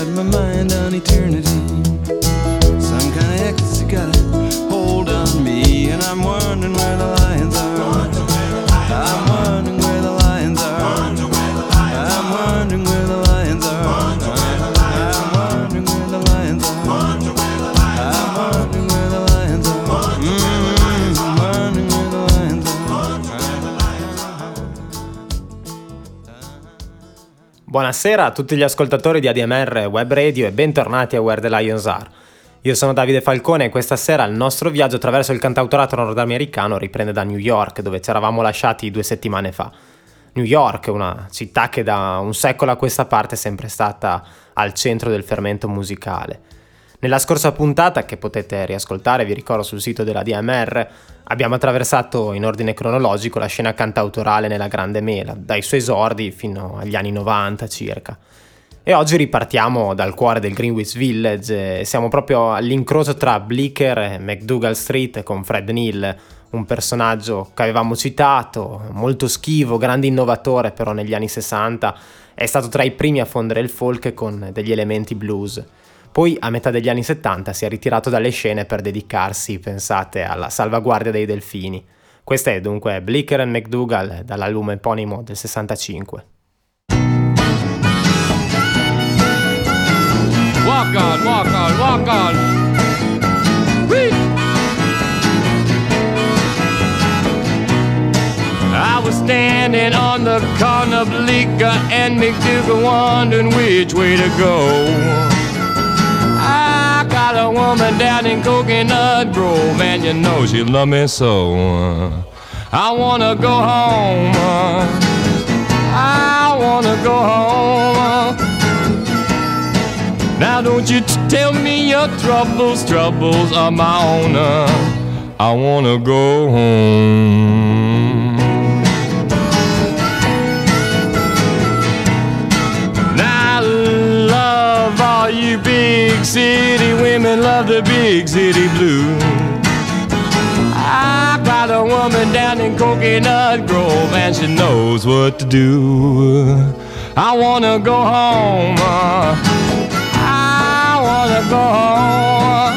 got my mind on eternity. Some kind of ecstasy got a hold on me, and I'm wondering where the lions are. I'm wondering where the lions are. I'm wondering where the lions are. I'm wondering where the lions are. I'm wondering where the lions are. I'm wondering where the lions are. Buonasera a tutti gli ascoltatori di ADMR Web Radio e bentornati a Where the Lions Are. Io sono Davide Falcone e questa sera il nostro viaggio attraverso il cantautorato nordamericano riprende da New York, dove ci eravamo lasciati 2 settimane fa. New York, una città che da un secolo a questa parte è sempre stata al centro del fermento musicale. Nella scorsa puntata, che potete riascoltare, vi ricordo, sul sito della DMR, abbiamo attraversato in ordine cronologico la scena cantautorale nella Grande Mela, dai suoi esordi fino agli anni 90 circa. E oggi ripartiamo dal cuore del Greenwich Village e siamo proprio all'incrocio tra Bleecker e MacDougall Street con Fred Neil, un personaggio che avevamo citato, molto schivo, grande innovatore, però negli anni 60 è stato tra i primi a fondere il folk con degli elementi blues. Poi a metà degli anni 70 si è ritirato dalle scene per dedicarsi, pensate, alla salvaguardia dei delfini. Questa è dunque Bleecker and MacDougall dall'album eponimo del 65. Walk on, walk on, walk on. Whee! I was standing on the corner of Bleecker and MacDougall, wondering which way to go. I got a woman down in Coconut Grove, and you know she love me so. I wanna go home. I wanna go home. Now don't you tell me your troubles are my own. I wanna go home. Now I love all you big city women, love the big city blues. I got a woman down in Coconut Grove and she knows what to do. I wanna go home. I wanna go home.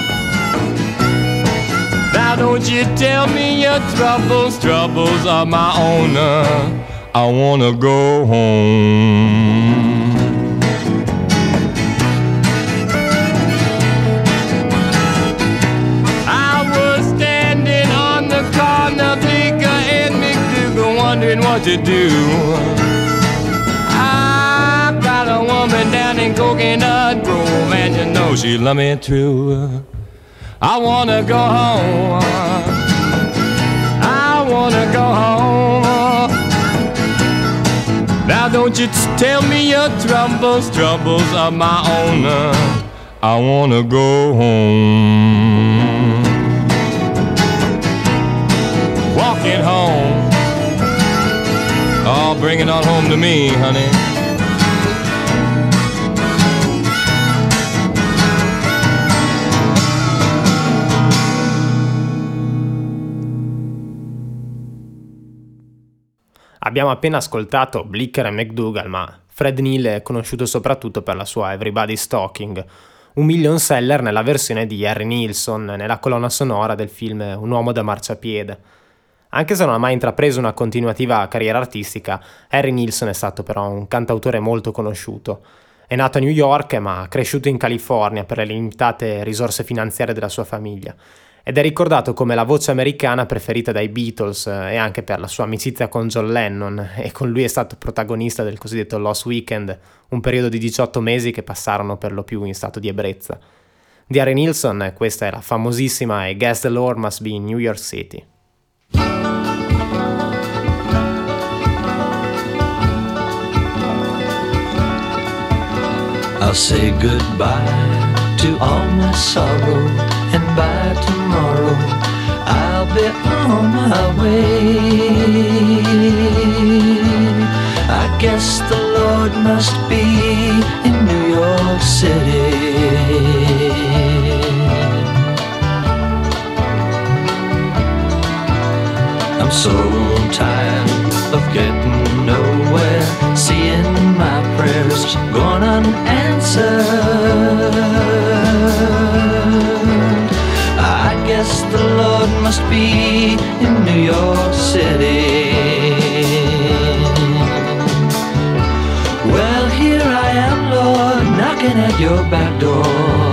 Now don't you tell me your troubles are my own. I wanna go home. I was standing on the corner, Bleecker and MacDougall, wondering what to do. I got a woman down in Coconut Grove, and you know she love me true. I wanna go home. I wanna go home. Now don't you tell me your troubles are my own. I wanna go home. Walking home. Oh, bring it on home to me, honey. Abbiamo appena ascoltato Bleecker e MacDougall, ma Fred Neil è conosciuto soprattutto per la sua Everybody's Talking, un million seller nella versione di Harry Nilsson nella colonna sonora del film Un uomo da marciapiede. Anche se non ha mai intrapreso una continuativa carriera artistica, Harry Nilsson è stato però un cantautore molto conosciuto. È nato a New York ma ha cresciuto in California per le limitate risorse finanziarie della sua famiglia. Ed è ricordato come la voce americana preferita dai Beatles e anche per la sua amicizia con John Lennon, e con lui è stato protagonista del cosiddetto Lost Weekend, un periodo di 18 mesi che passarono per lo più in stato di ebbrezza. Di Harry Nilsson questa è la famosissima I Guess the Lord Must Be in New York City. I'll say goodbye to all my sorrow, and by tomorrow I'll be on my way. I guess the Lord must be in New York City. I'm so tired of getting nowhere, seeing my prayers going unanswered. must be in New York City. Well, here I am, Lord, knocking at your back door.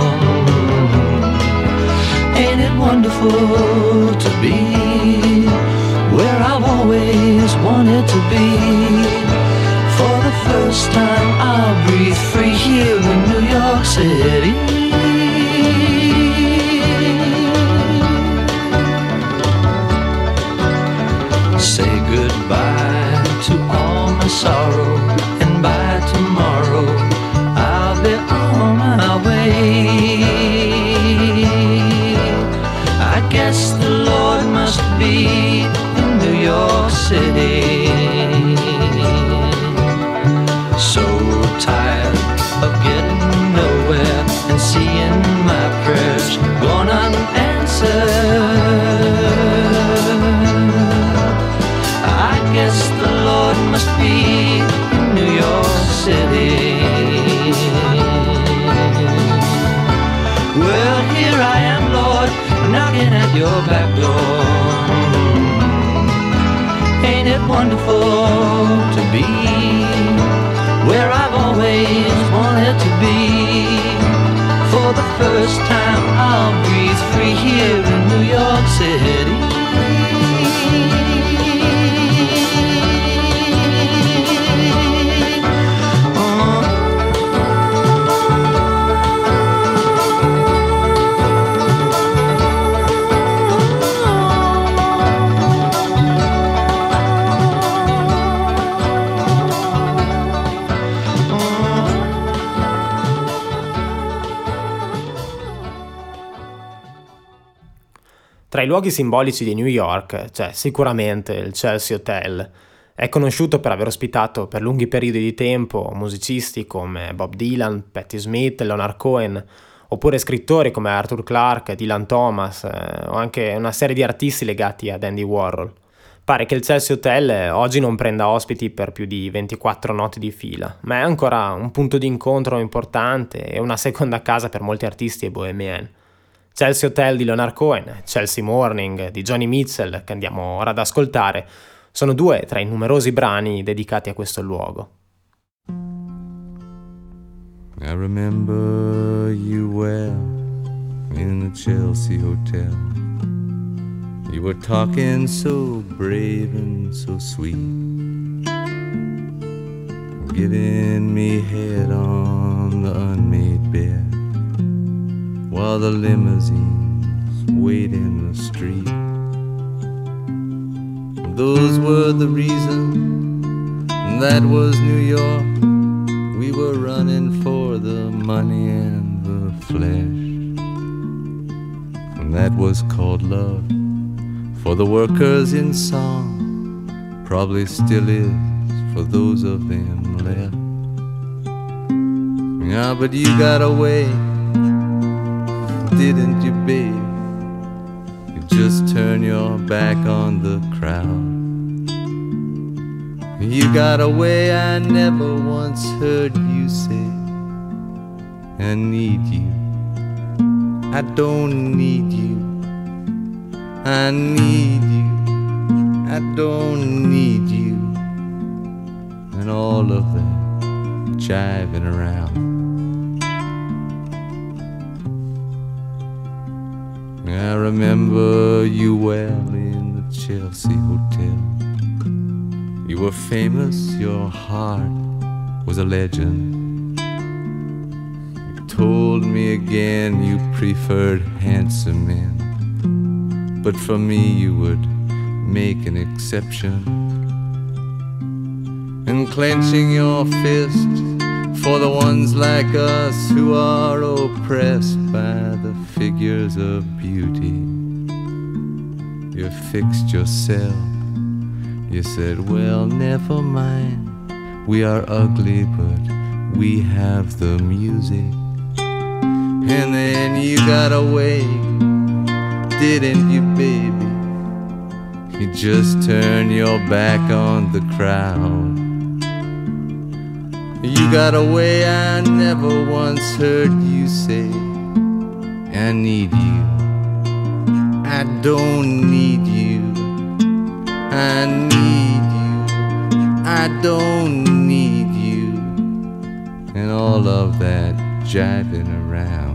Ain't it wonderful to be where I've always wanted to be? For the first time I'll breathe free here in New York City. Say goodbye to all my sorrow, and by tomorrow I'll be on my way. I guess the Lord must be in New York City. So tired of getting nowhere and seeing my prayers gone unanswered. I guess the Lord must be in New York City. Well, here I am, Lord, knocking at your back door. Ain't it wonderful to be where I've always wanted to be? For the first time I'll breathe free here in New York City. Tra i luoghi simbolici di New York c'è sicuramente il Chelsea Hotel. È conosciuto per aver ospitato per lunghi periodi di tempo musicisti come Bob Dylan, Patti Smith, Leonard Cohen, oppure scrittori come Arthur Clarke, Dylan Thomas, o anche una serie di artisti legati ad Andy Warhol. Pare che il Chelsea Hotel oggi non prenda ospiti per più di 24 notti di fila, ma è ancora un punto di incontro importante e una seconda casa per molti artisti e bohemian. Chelsea Hotel di Leonard Cohen, Chelsea Morning di Joni Mitchell, che andiamo ora ad ascoltare, sono due tra i numerosi brani dedicati a questo luogo. I remember you well in the Chelsea Hotel. You were talking so brave and so sweet, giving me head on the unmade bed, while the limousines wait in the street. Those were the reasons, that was New York. We were running for the money and the flesh, and that was called love. For the workers in song, probably still is for those of them left. Yeah, but you got away, didn't you, babe? You just turn your back on the crowd. You got away, I never once heard you say, I need you, I don't need you, I need you, I don't need you, and all of that jiving around. I remember you well in the Chelsea Hotel. You were famous, your heart was a legend. You told me again you preferred handsome men, but for me you would make an exception. And clenching your fist for the ones like us who are oppressed by the figures of beauty, you fixed yourself. You said, well, never mind, we are ugly, but we have the music. And then you got away, didn't you, baby? You just turned your back on the crowd. You got away, I never once heard you say, I need you, I don't need you. I need you. I don't need you. And all of that jiving around.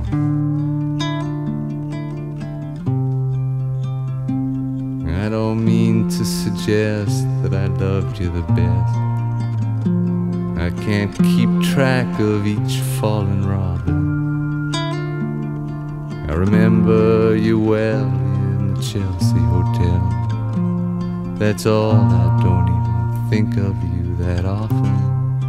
I don't mean to suggest that I loved you the best. I can't keep track of each fallen robin. I remember you well in the Chelsea Hotel. That's all, I don't even think of you that often.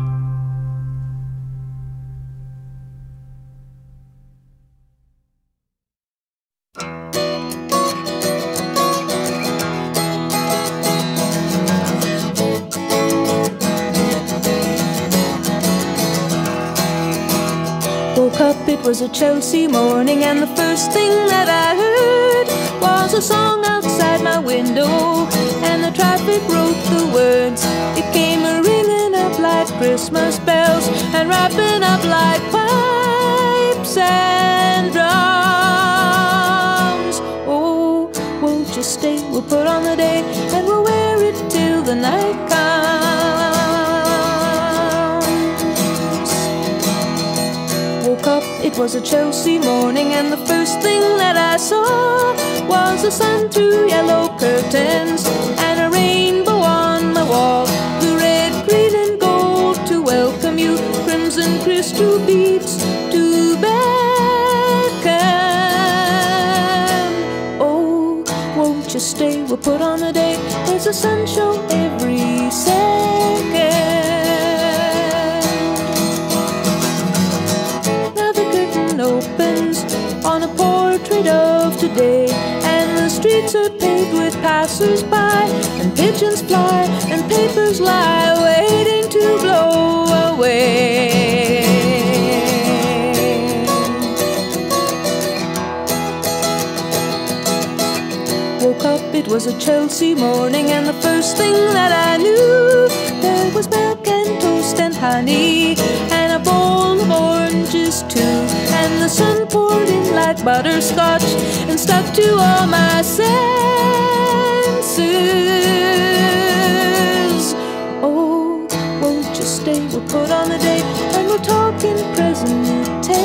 Woke up, it was a Chelsea morning, and the first thing that I heard was a song outside my window, and the traffic wrote the words. It came ringing up like Christmas bells and wrapping up like pipes and drums. Oh, won't you stay? We'll put on the day and we'll wear it till the night comes. Woke up, it was a Chelsea morning, and the first thing that I saw was the sun through yellow curtains and a rainbow on my wall. The red, green and gold to welcome you, crimson crystal beads to beckon. Oh, won't you stay? We'll put on a day. There's a sun show every second. Opens on a portrait of today, and the streets are paved with passers-by, and pigeons fly and papers lie waiting to blow away. Woke up, it was a Chelsea morning, and the first thing that I knew, there was milk and toast and honey and a bowl of oranges too. And the sun poured in like butterscotch and stuck to all my senses. Oh, won't you stay? We'll put on the day and we'll talk in present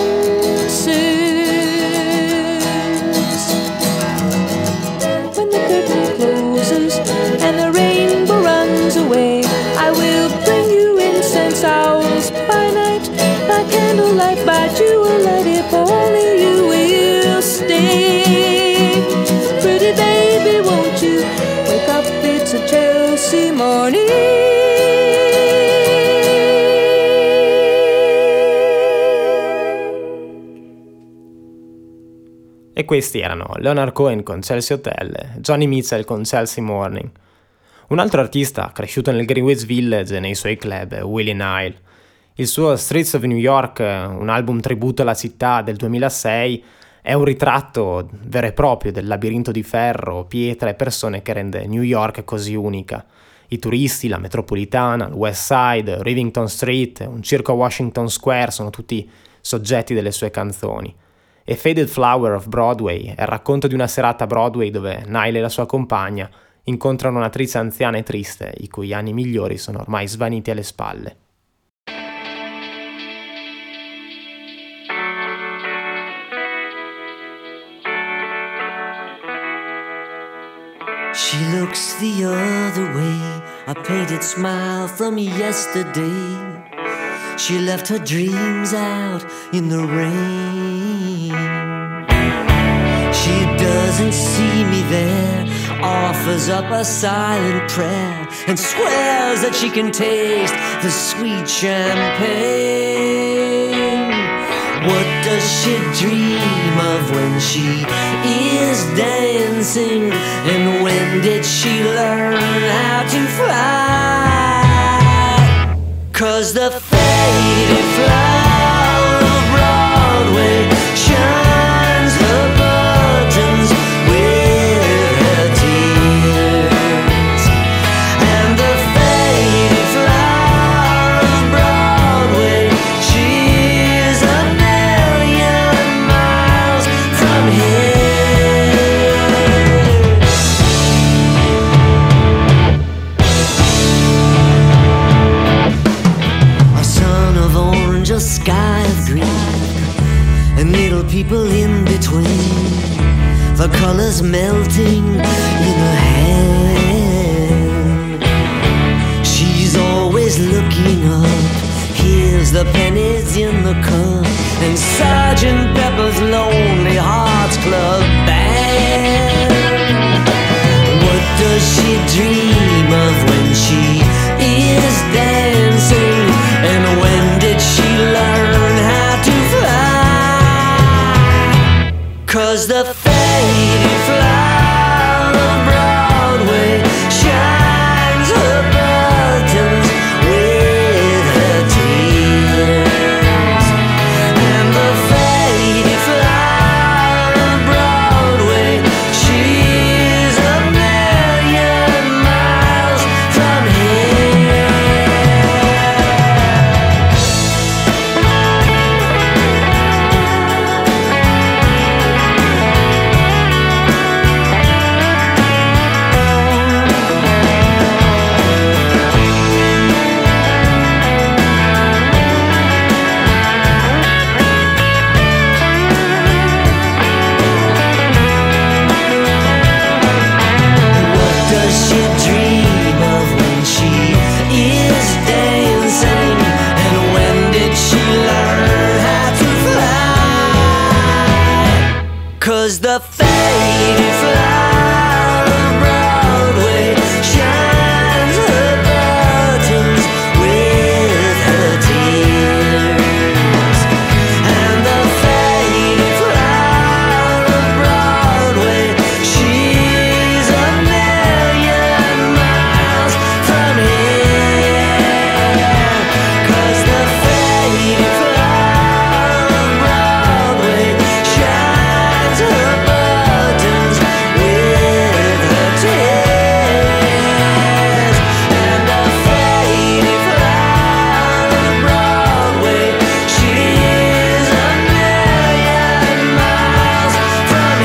tenses. When the curtain closes and the rainbow runs away, I will bring you incense owls by night, by candlelight, by jewellight, if only you will stay. Pretty baby, won't you wake up? It's a Chelsea morning. E questi erano Leonard Cohen con Chelsea Hotel e Johnny Mitchell con Chelsea Morning. Un altro artista cresciuto nel Greenwich Village e nei suoi club è Willie Nile. Il suo Streets of New York, un album tributo alla città del 2006, è un ritratto vero e proprio del labirinto di ferro, pietra e persone che rende New York così unica. I turisti, la metropolitana, il West Side, Rivington Street, un circo a Washington Square sono tutti soggetti delle sue canzoni. E Faded Flower of Broadway è il racconto di una serata a Broadway dove Nile e la sua compagna incontrano un'attrice anziana e triste, i cui anni migliori sono ormai svaniti alle spalle. She looks the other way, a painted smile from yesterday. She left her dreams out in the rain. She doesn't see me there, offers up a silent prayer, and swears that she can taste the sweet champagne. What does she dream of when she is dancing? And when did she learn how to fly? 'Cause the faded flower of Broadway shines the buttons with her tears. And the faded flower of Broadway, she's a million miles from here. people in between, the colors melting in her hand. She's always looking up, here's the pennies in the cup, and Sergeant Pepper's Lonely Hearts Club Band. What does she dream of when she is dancing? And when did she learn how to fly? 'Cause the faded flower of Broadway shines her buttons with her tears. And the faded flower of Broadway, she's a million miles from here. What does she dream of when she is dancing? And when did she learn how to fly? 'Cause the faded flower of Broadway shines her buttons with her tears. And the faded flower of Broadway, she's a million miles from here. 'Cause the faded flower of Broadway shines her buttons with her tears. And the faded flower of Broadway, she's a million miles from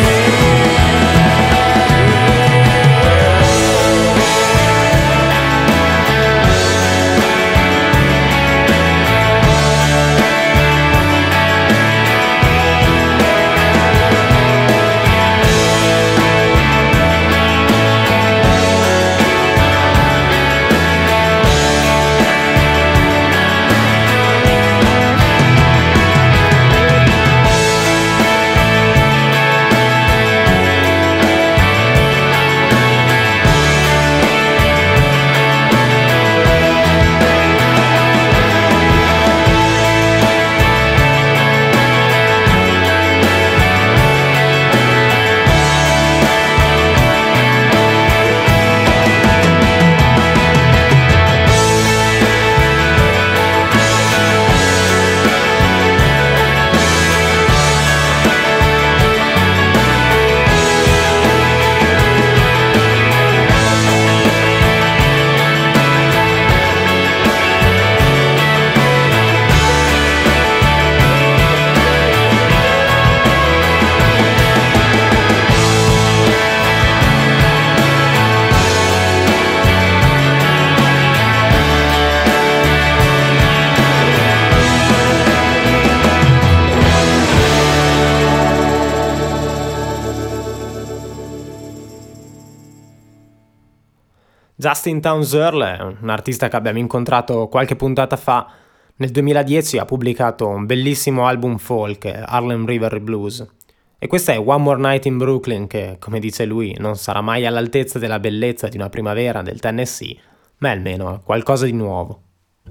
Justin Townes Earle è un artista che abbiamo incontrato qualche puntata fa. Nel 2010 ha pubblicato un bellissimo album folk, Harlem River Blues. E questa è One More Night in Brooklyn, che, come dice lui, non sarà mai all'altezza della bellezza di una primavera del Tennessee, ma è almeno qualcosa di nuovo.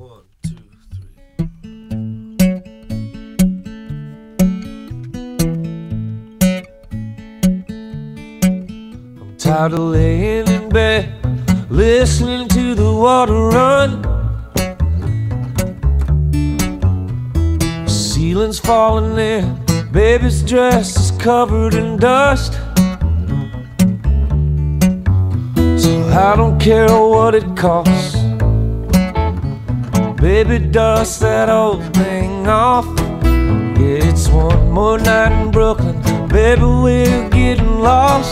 Tired of laying in bed, listening to the water run. Ceiling's falling in, baby's dress is covered in dust. So I don't care what it costs, baby, dust that old thing off. Yeah, it's one more night in Brooklyn, baby, we're getting lost.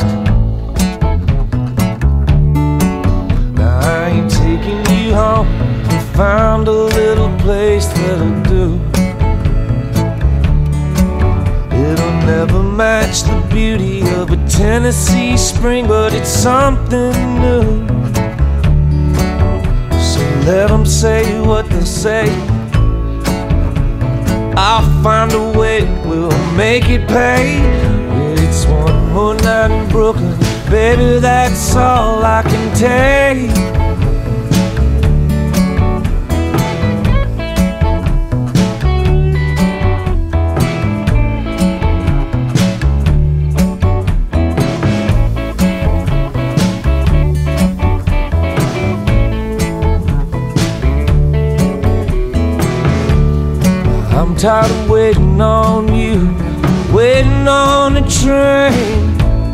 I ain't taking you home, we found a little place that'll do. It'll match the beauty of a Tennessee spring, but it's something new. So let them say what they'll say, I'll find a way, we'll make it pay. It's one more night in Brooklyn, baby, that's all I can take. I'm tired of waiting on you, waiting on a train.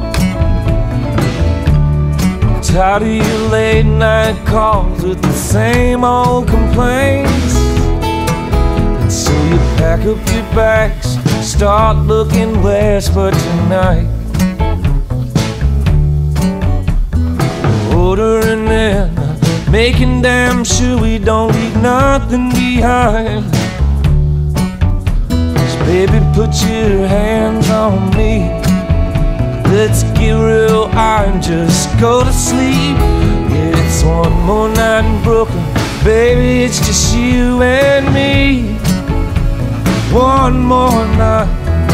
Tired of your late night calls with the same old complaints. And so you pack up your bags, start looking west for tonight. Ordering in, making damn sure we don't leave nothing behind. Baby, put your hands on me. Let's get real high and just go to sleep. Yeah, it's one more night in Brooklyn, baby, it's just you and me. One more night.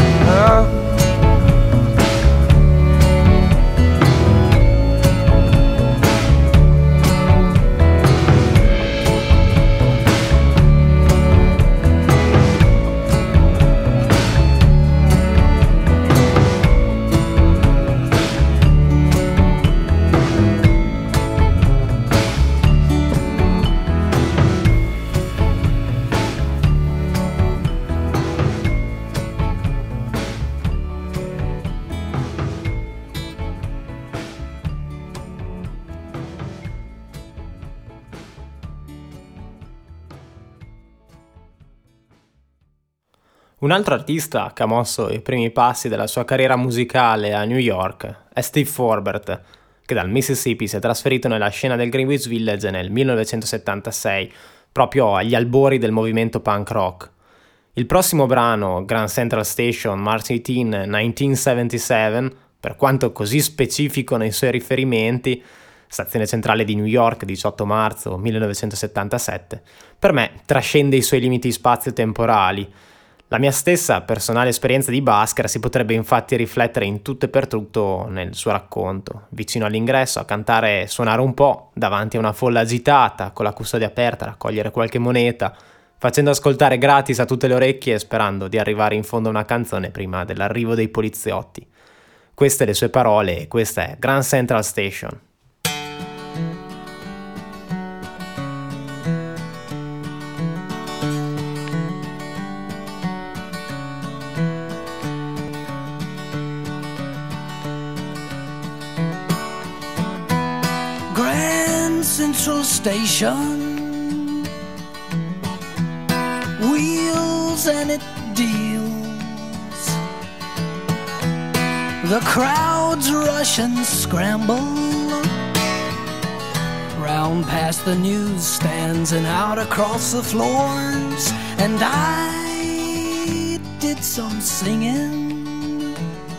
Un altro artista che ha mosso i primi passi della sua carriera musicale a New York è Steve Forbert, che dal Mississippi si è trasferito nella scena del Greenwich Village nel 1976, proprio agli albori del movimento punk rock. Il prossimo brano, Grand Central Station, March 18, 1977, per quanto così specifico nei suoi riferimenti, stazione centrale di New York, 18 marzo 1977, per me trascende i suoi limiti spazio-temporali. La mia stessa personale esperienza di busker si potrebbe infatti riflettere in tutto e per tutto nel suo racconto. Vicino all'ingresso a cantare e suonare un po', davanti a una folla agitata, con la custodia aperta a raccogliere qualche moneta, facendo ascoltare gratis a tutte le orecchie e sperando di arrivare in fondo a una canzone prima dell'arrivo dei poliziotti. Queste le sue parole e questa è Grand Central Station. Central Station, wheels and it deals. The crowds rush and scramble round past the newsstands and out across the floors. And I did some singing,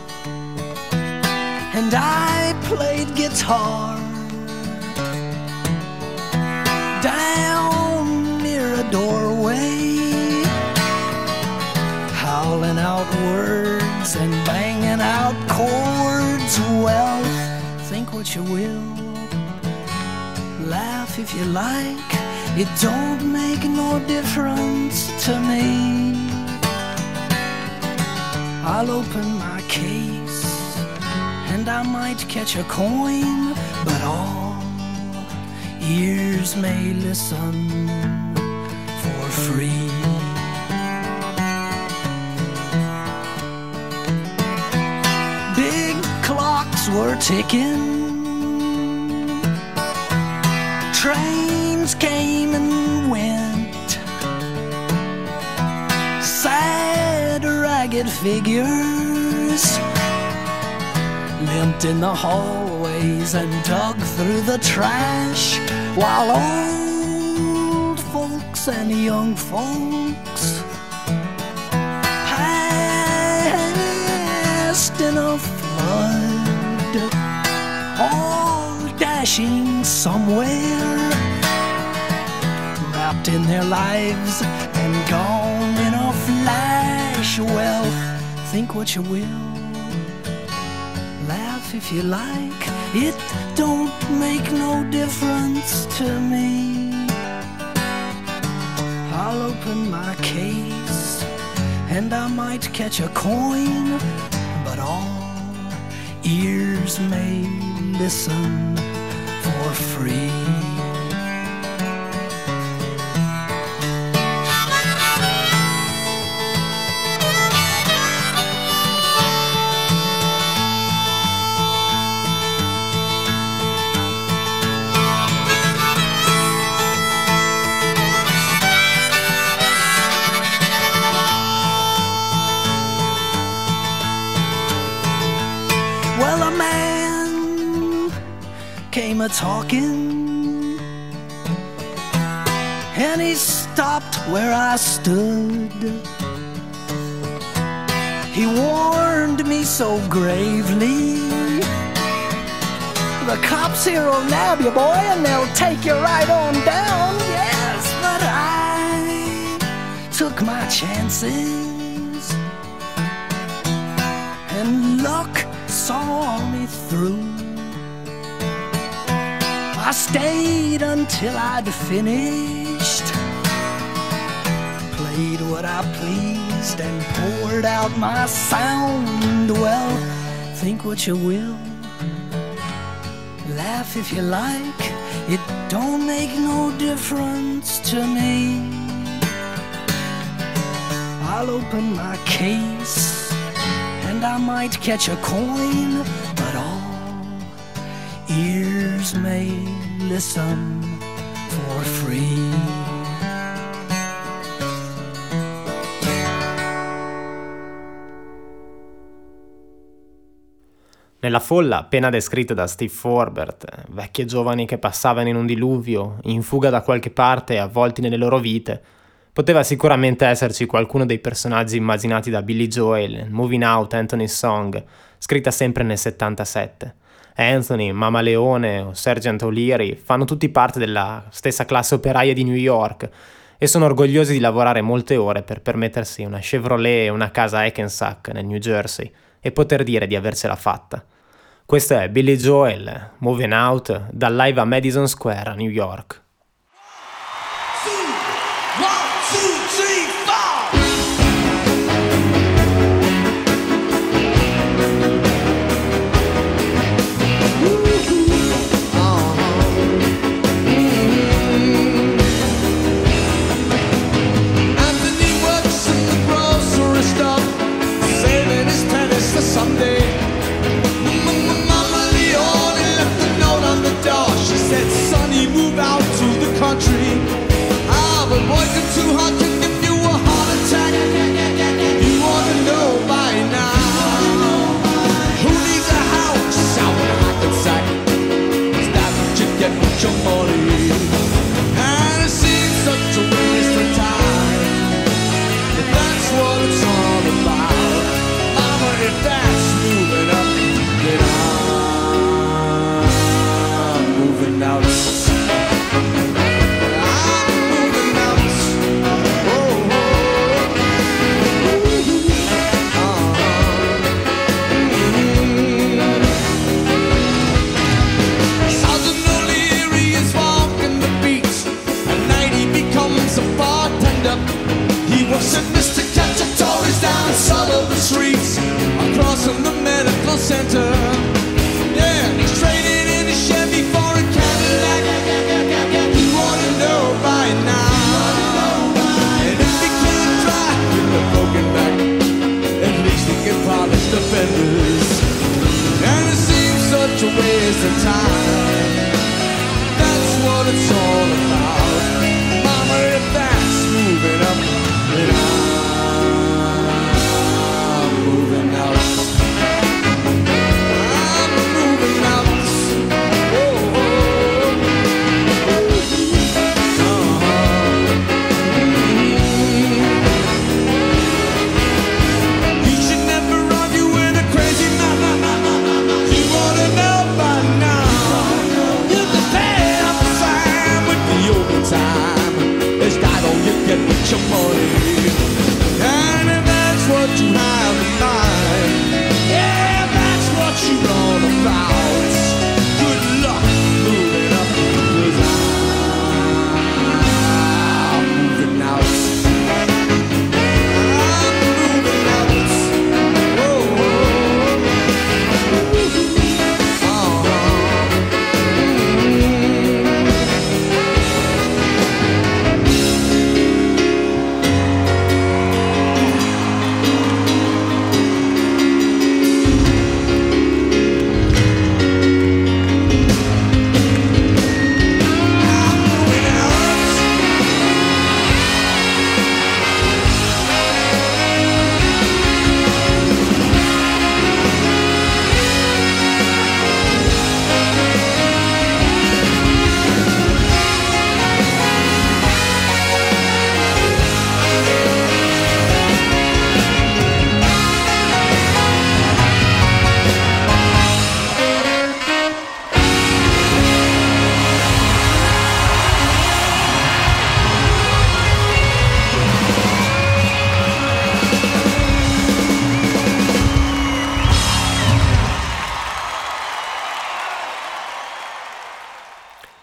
and I played guitar down near a doorway, howling out words and banging out chords. Well, think what you will, laugh if you like, it don't make no difference to me. I'll open my case and I might catch a coin, but all ears may listen for free. Big clocks were ticking, trains came and went, sad ragged figures limped in the hallways and dug through the trash, while old folks and young folks passed blood, all dashing somewhere, wrapped in their lives and gone in a flash. Well, think what you will, laugh if you like, it don't make no difference to me. I'll open my case and I might catch a coin, but all ears may listen for free. Well, a man came a-talking, and he stopped where I stood. He warned me so gravely, the cops here will nab you, boy, and they'll take you right on down. Yes, but I took my chances, and luck saw me through. I stayed until I'd finished, played what I pleased and poured out my sound. Well, think what you will, laugh if you like, it don't make no difference to me. I'll open my case and I might catch a coin, but all ears may listen for free. Nella folla appena descritta da Steve Forbert, vecchi e giovani che passavano in un diluvio, in fuga da qualche parte e avvolti nelle loro vite, poteva sicuramente esserci qualcuno dei personaggi immaginati da Billy Joel, Moving Out, Anthony's Song, scritta sempre nel 77. Anthony, Mama Leone o Sergeant O'Leary fanno tutti parte della stessa classe operaia di New York e sono orgogliosi di lavorare molte ore per permettersi una Chevrolet e una casa a Hackensack nel New Jersey e poter dire di avercela fatta. Questo è Billy Joel, Moving Out, dal live a Madison Square a New York. Someday, Mama Leone left a note on the door. She said, "Sonny, move out to the country. Ah, but boy, you're too hot to give you a heart attack. You ought to know by now. Who needs a house out in Hackensack? Is that what you get with your money? And it seems such a waste of time, but that's what it's all about. Mama, if that's moving up, then I'm moving out. I'm moving out. Oh, Sergeant O'Leary is walking the beat. At night he becomes a bartender. He works at Mr. Cacciatore's down Sullivan Streets, across from the medical center. Yeah, he's trading in his Chevy for a Cadillac. You ought to know by now. And if he can't drive with a broken back, at least he can polish the fenders. And it seems such a waste of time. That's what it's all about. Mama, if that's moving up, then I'm moving out. I'm moving out. Oh, You should never argue with a crazy man.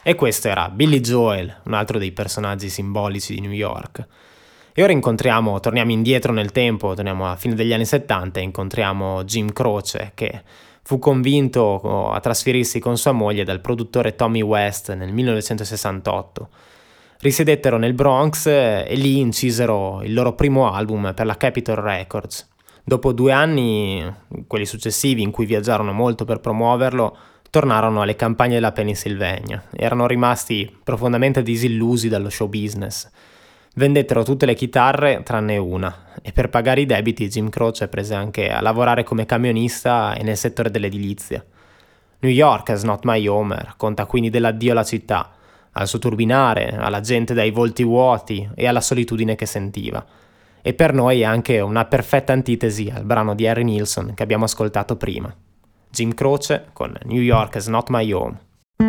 E questo era Billy Joel, un altro dei personaggi simbolici di New York. E ora torniamo indietro nel tempo, torniamo alla fine degli anni 70 e incontriamo Jim Croce, che fu convinto a trasferirsi con sua moglie dal produttore Tommy West nel 1968. Risiedettero nel Bronx e lì incisero il loro primo album per la Capitol Records. Dopo 2 anni, quelli successivi in cui viaggiarono molto per promuoverlo, tornarono alle campagne della Pennsylvania. Erano rimasti profondamente disillusi dallo show business. Vendettero tutte le chitarre tranne una, e per pagare i debiti Jim Croce prese anche a lavorare come camionista e nel settore dell'edilizia. New York is not my home racconta quindi dell'addio alla città, al suo turbinare, alla gente dai volti vuoti e alla solitudine che sentiva. E per noi è anche una perfetta antitesi al brano di Harry Nilsson che abbiamo ascoltato prima. Jim Croce con New York is not my home.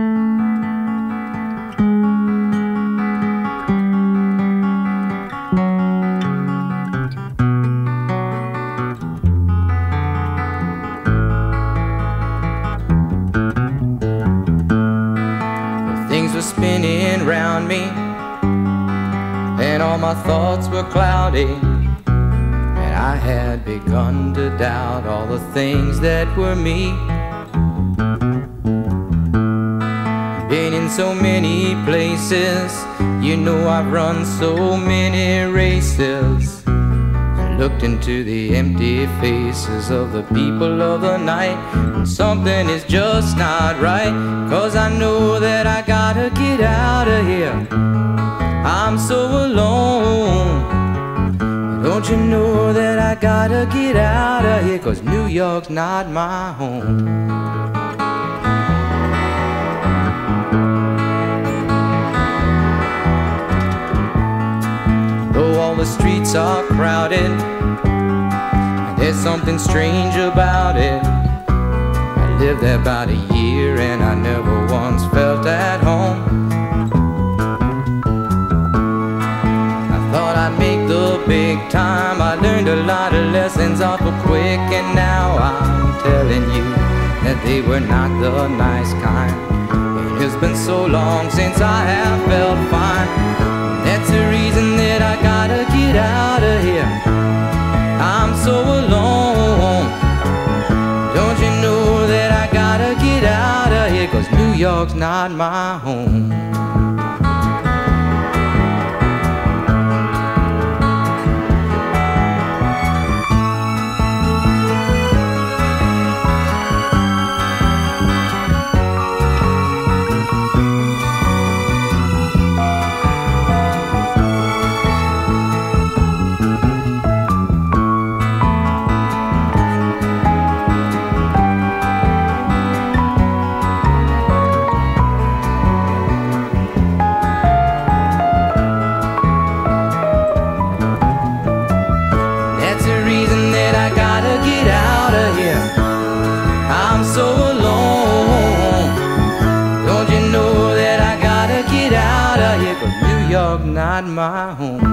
Things were spinning round me and all my thoughts were cloudy. I had begun to doubt all the things that were me. Been in so many places, you know I've run so many races. I looked into the empty faces of the people of the night, and something is just not right, 'cause I know that I gotta get out of here. I'm so alone. Don't you know that I gotta get out of here, 'cause New York's not my home. Though all the streets are crowded, there's something strange about it. I lived there about a year and I never once felt at home. Make the big time. I learned a lot of lessons awful quick, and now I'm telling you that they were not the nice kind. It's been so long since I have felt fine. That's the reason that I gotta get out of here. I'm so alone. Don't you know that I gotta get out of here, 'cause New York's not my home. Not my home.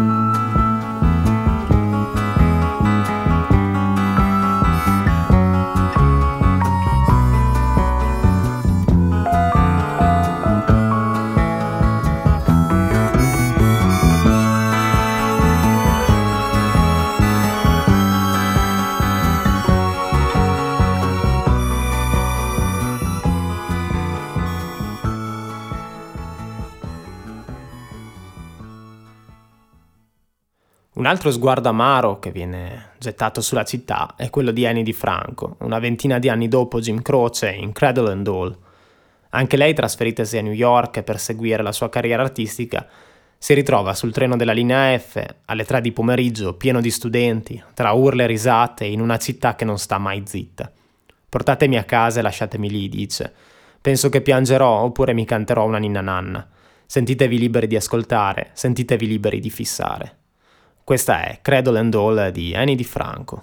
Un altro sguardo amaro che viene gettato sulla città è quello di Annie DiFranco, una ventina di anni dopo Jim Croce in Cradle and All. Anche lei, trasferitasi a New York per seguire la sua carriera artistica, si ritrova sul treno della linea F alle 3 di pomeriggio, pieno di studenti, tra urla e risate, in una città che non sta mai zitta. Portatemi a casa e lasciatemi lì, dice. Penso che piangerò oppure mi canterò una ninna nanna. Sentitevi liberi di ascoltare, sentitevi liberi di fissare. Questa è Cradle and All di Annie DiFranco.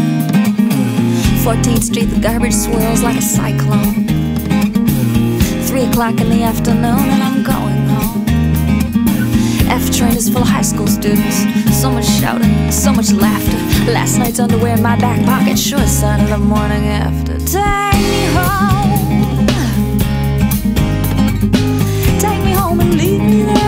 14th Street, the garbage swirls like a cyclone. 3 o'clock in the afternoon and I'm going home. F train is full of high school students. So much shouting, so much laughter. Last night's underwear in my back pocket, sure sign of the morning after. Take me home. Take me home and leave me there.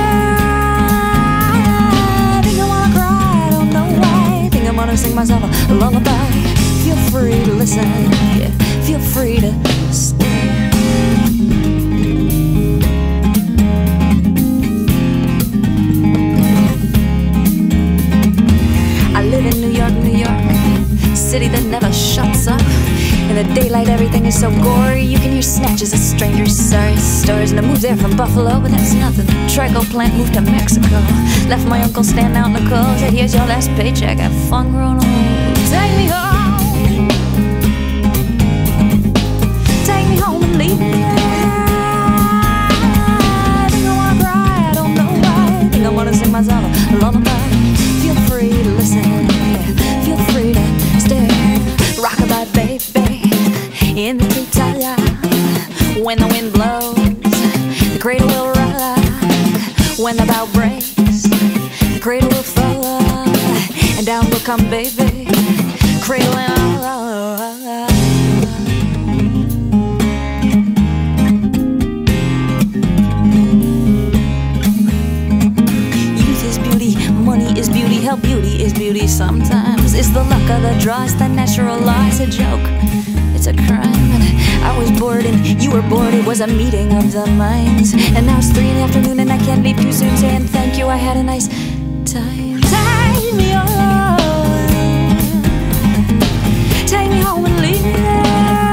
I think I wanna cry, I don't know why. I think I'm gonna sing myself a lullaby. Feel free to listen, yeah. Feel free to stay. I live in New York, New York, city that never shuts up. In the daylight everything is so gory, you can hear snatches of strangers' sorry stories. And I moved there from Buffalo, but that's nothing. Trico plant moved to Mexico. Left my uncle standing out in the cold. Said, here's your last paycheck, have fun growing old. Take me home. Take me home and leave me there. I think I wanna cry, I don't know why. I think I wanna sing myself a lullaby. Feel free to listen, yeah. Feel free to stay. Rockabye, baby, in the treetop. When the wind blows, the cradle will rock. When the bow breaks, the cradle will fall. And down will come, baby, cradle and all. Youth is beauty, money is beauty, hell, beauty is beauty sometimes. It's the luck of the draw, it's the natural law, it's a joke, it's a crime. I was bored and you were bored, it was a meeting of the minds. And now it's 3 in the afternoon and I can't leave too soon, saying thank you, I had a nice time. Take me home. Take me home and leave me there.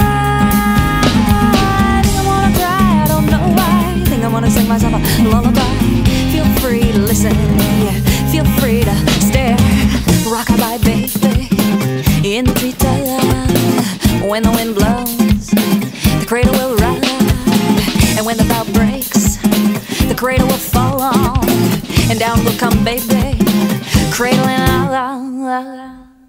I think I wanna cry, I don't know why. I think I wanna sing myself a lullaby. Feel free to listen, yeah. Feel free to stare. Rockabye, baby, in the treetop. When the wind blows, the cradle will rock. And when the bow breaks, the cradle will fall on. And down will come, baby, cradle and all.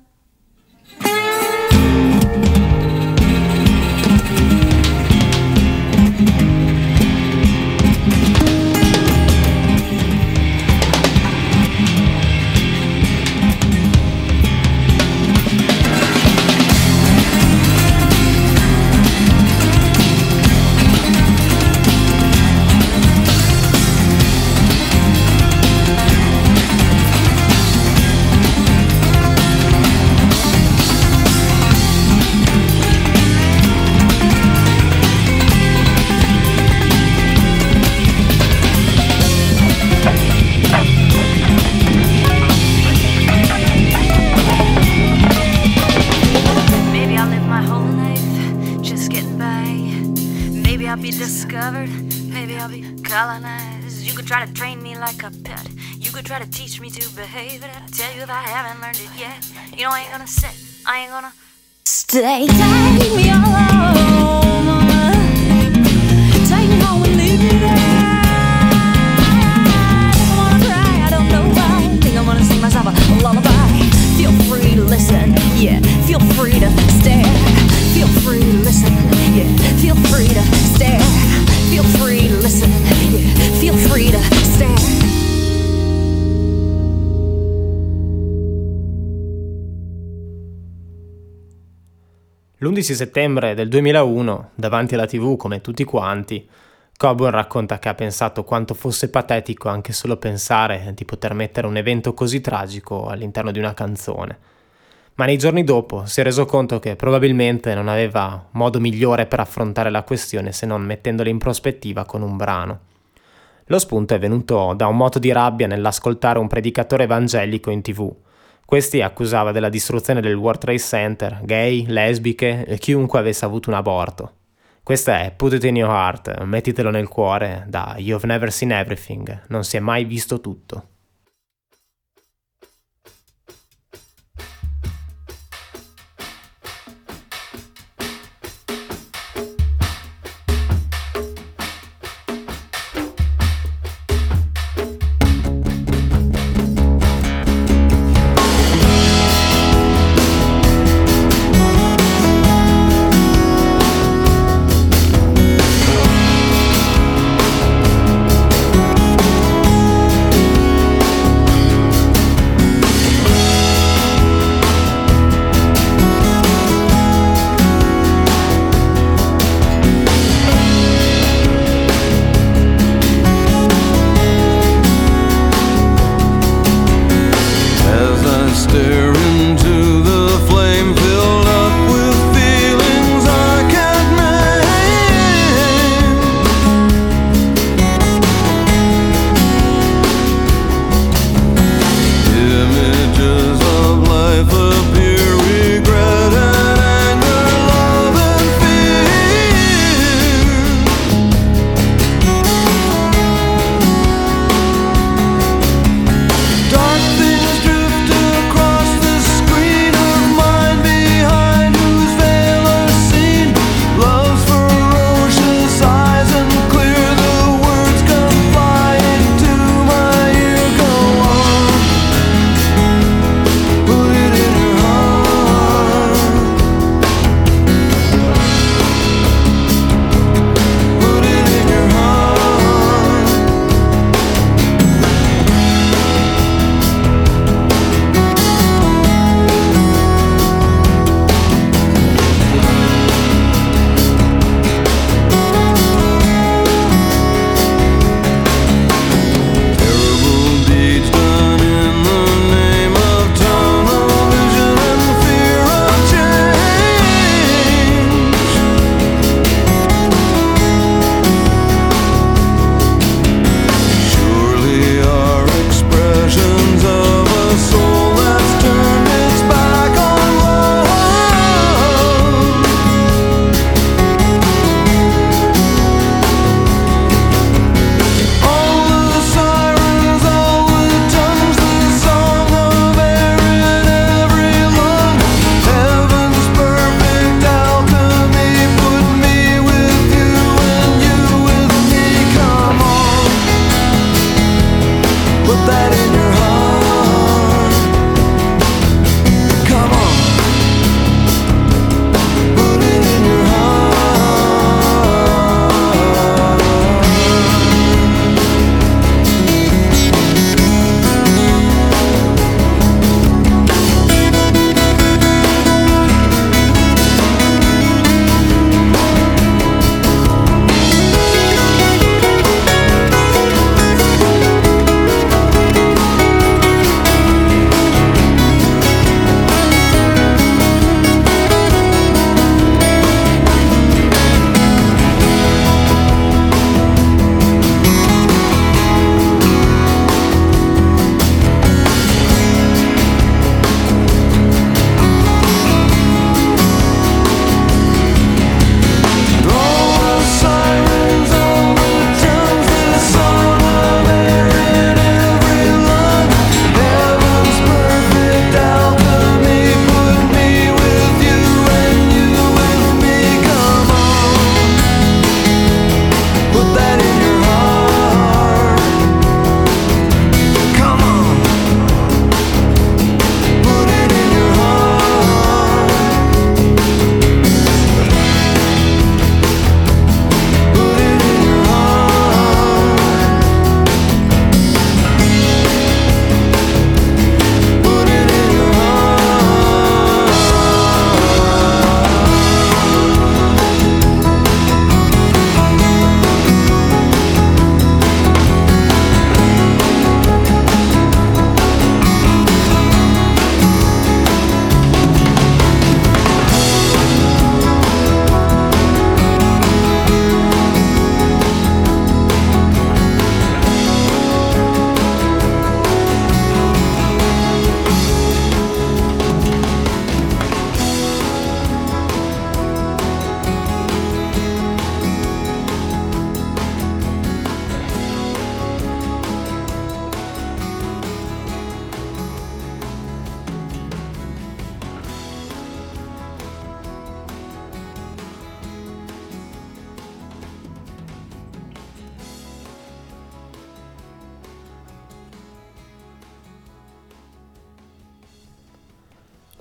You could try to train me like a pet. You could try to teach me to behave. But I tell you, if I haven't learned it yet, you know I ain't gonna sit, I ain't gonna stay. Take me home. Take me home and leave me there. I think I wanna cry, I don't know why. I think I'm gonna sing myself a lullaby. Feel free to listen, yeah. Feel free to stare. Feel free to listen, yeah. Feel free to stare. Feel free to listen, yeah. Feel free to stare. L'11 settembre del 2001, davanti alla TV come tutti quanti, Coburn racconta che ha pensato quanto fosse patetico anche solo pensare di poter mettere un evento così tragico all'interno di una canzone. Ma nei giorni dopo si è reso conto che probabilmente non aveva modo migliore per affrontare la questione se non mettendola in prospettiva con un brano. Lo spunto è venuto da un moto di rabbia nell'ascoltare un predicatore evangelico in TV. Questi accusava della distruzione del World Trade Center gay, lesbiche e chiunque avesse avuto un aborto. Questa è Put It In Your Heart, mettitelo nel cuore, da You've Never Seen Everything, non si è mai visto tutto.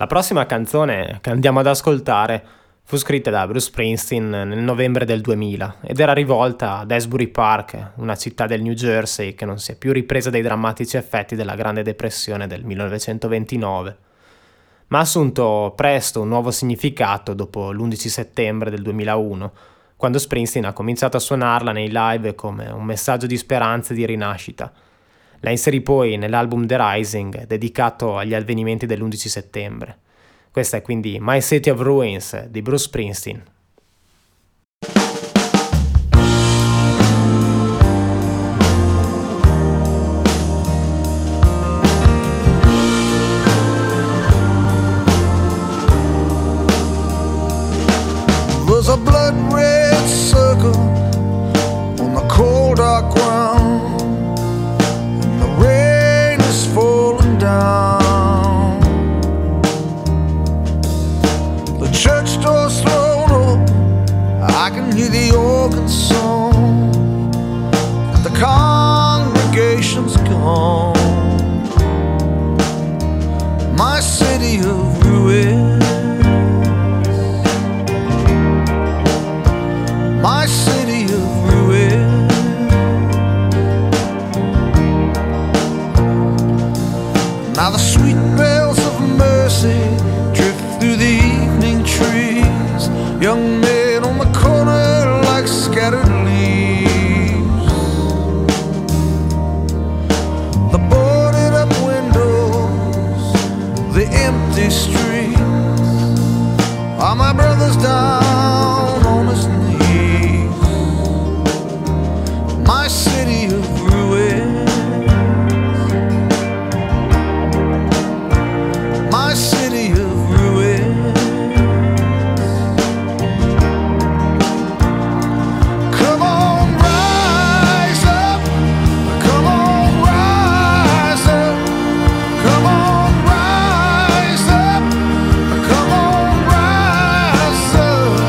La prossima canzone che andiamo ad ascoltare fu scritta da Bruce Springsteen nel novembre del 2000 ed era rivolta ad Asbury Park, una città del New Jersey che non si è più ripresa dai drammatici effetti della Grande Depressione del 1929, ma ha assunto presto un nuovo significato dopo l'11 settembre del 2001, quando Springsteen ha cominciato a suonarla nei live come un messaggio di speranza e di rinascita. La inserì poi nell'album The Rising, dedicato agli avvenimenti dell'11 settembre. Questa è quindi My City of Ruins di Bruce Springsteen. There's a blood red circle on the cold dark ground, and the rain is falling down. The church door's thrown open, I can hear the organ song, the congregation's gone. My city of ruins, my city of ruins. Now the sweet bells of mercy drift through the evening trees, young men on the corner like scattered leaves. The boarded up windows, the empty streets, all my brothers down on his knees. My city of ruins, my city of ruins. Come on, rise up, come on, rise up, come on, rise up, come on, rise up.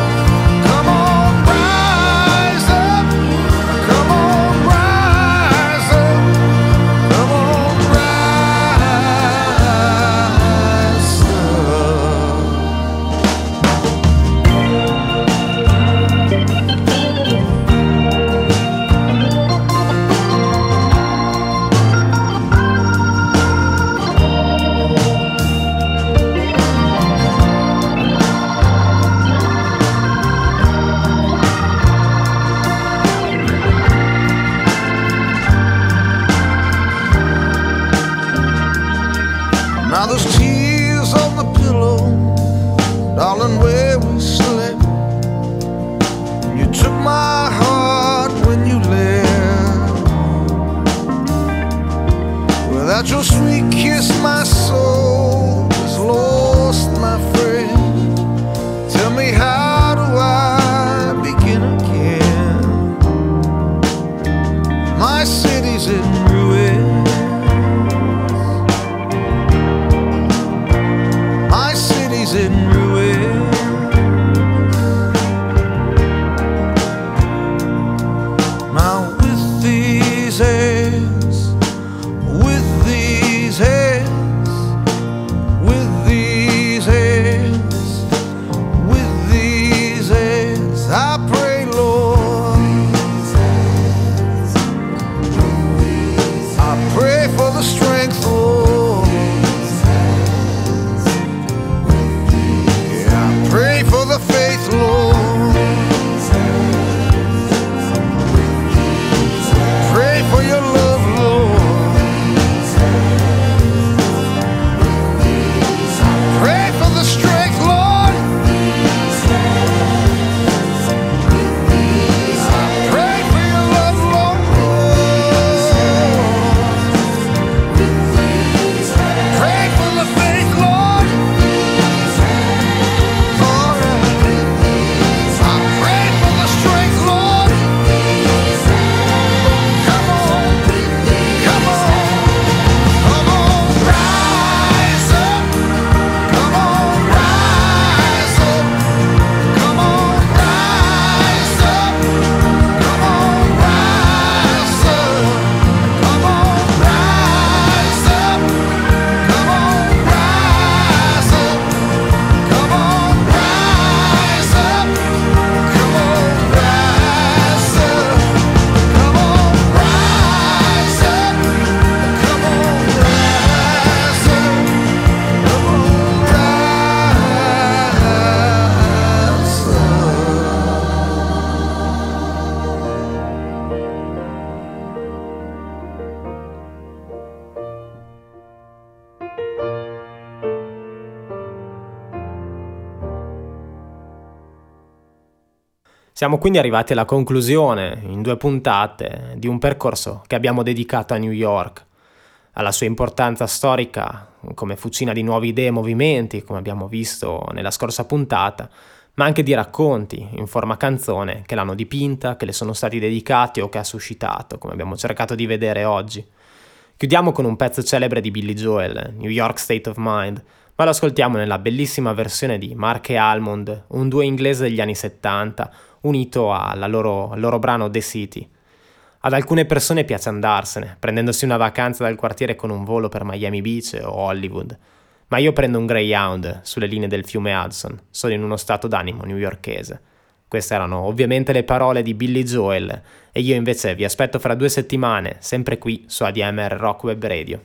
Siamo quindi arrivati alla conclusione, in 2 puntate, di un percorso che abbiamo dedicato a New York, alla sua importanza storica come fucina di nuove idee e movimenti, come abbiamo visto nella scorsa puntata, ma anche di racconti in forma canzone che l'hanno dipinta, che le sono stati dedicati o che ha suscitato, come abbiamo cercato di vedere oggi. Chiudiamo con un pezzo celebre di Billy Joel, New York State of Mind, ma lo ascoltiamo nella bellissima versione di Mark e Almond, un duo inglese degli anni 70, unito al loro brano The City. Ad alcune persone piace andarsene, prendendosi una vacanza dal quartiere con un volo per Miami Beach o Hollywood, ma io prendo un Greyhound sulle linee del fiume Hudson, sono in uno stato d'animo newyorkese. Queste erano ovviamente le parole di Billy Joel, e io invece vi aspetto fra 2 settimane, sempre qui su ADMR Rock Web Radio.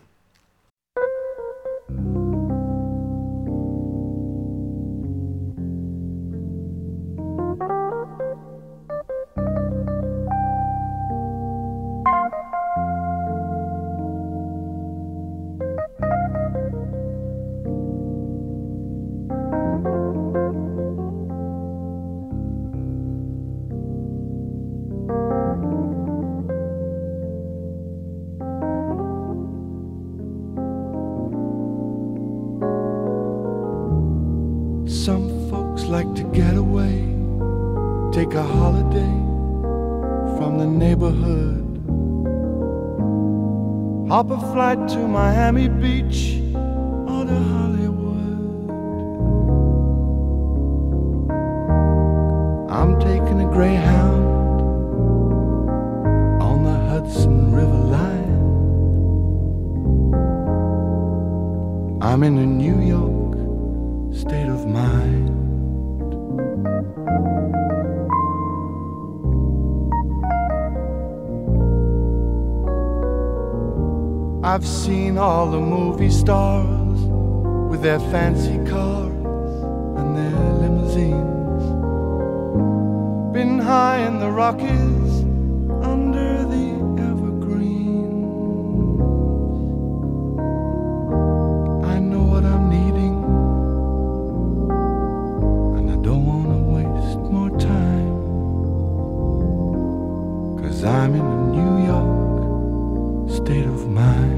Some folks like to get away, take a holiday from the neighborhood. Hop a flight to Miami Beach or to Hollywood. I'm taking a Greyhound on the Hudson River line. I'm in a New York state of mind. I've seen all the movie stars with their fancy cars and their limousines. Been high in the Rockies under the evergreens. I know what I'm needing, don't wanna waste more time, 'cause I'm in a New York state of mind.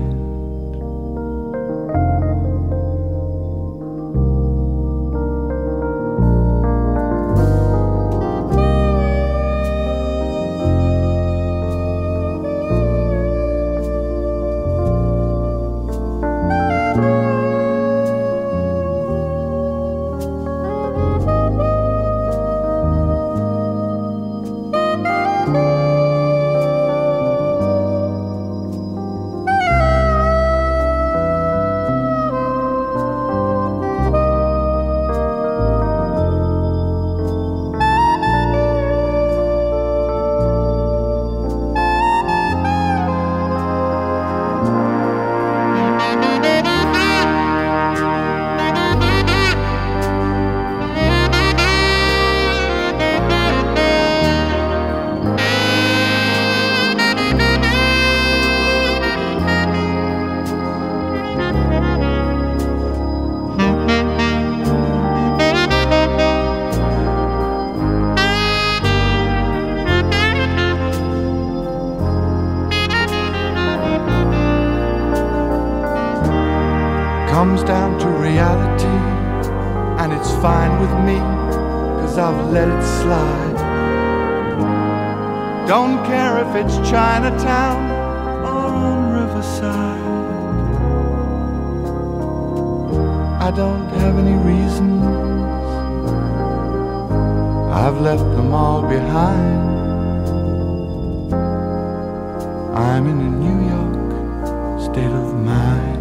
Comes down to reality, and it's fine with me, 'cause I've let it slide. Don't care if it's Chinatown or on Riverside. I don't have any reasons, I've left them all behind. I'm in a New York state of mind.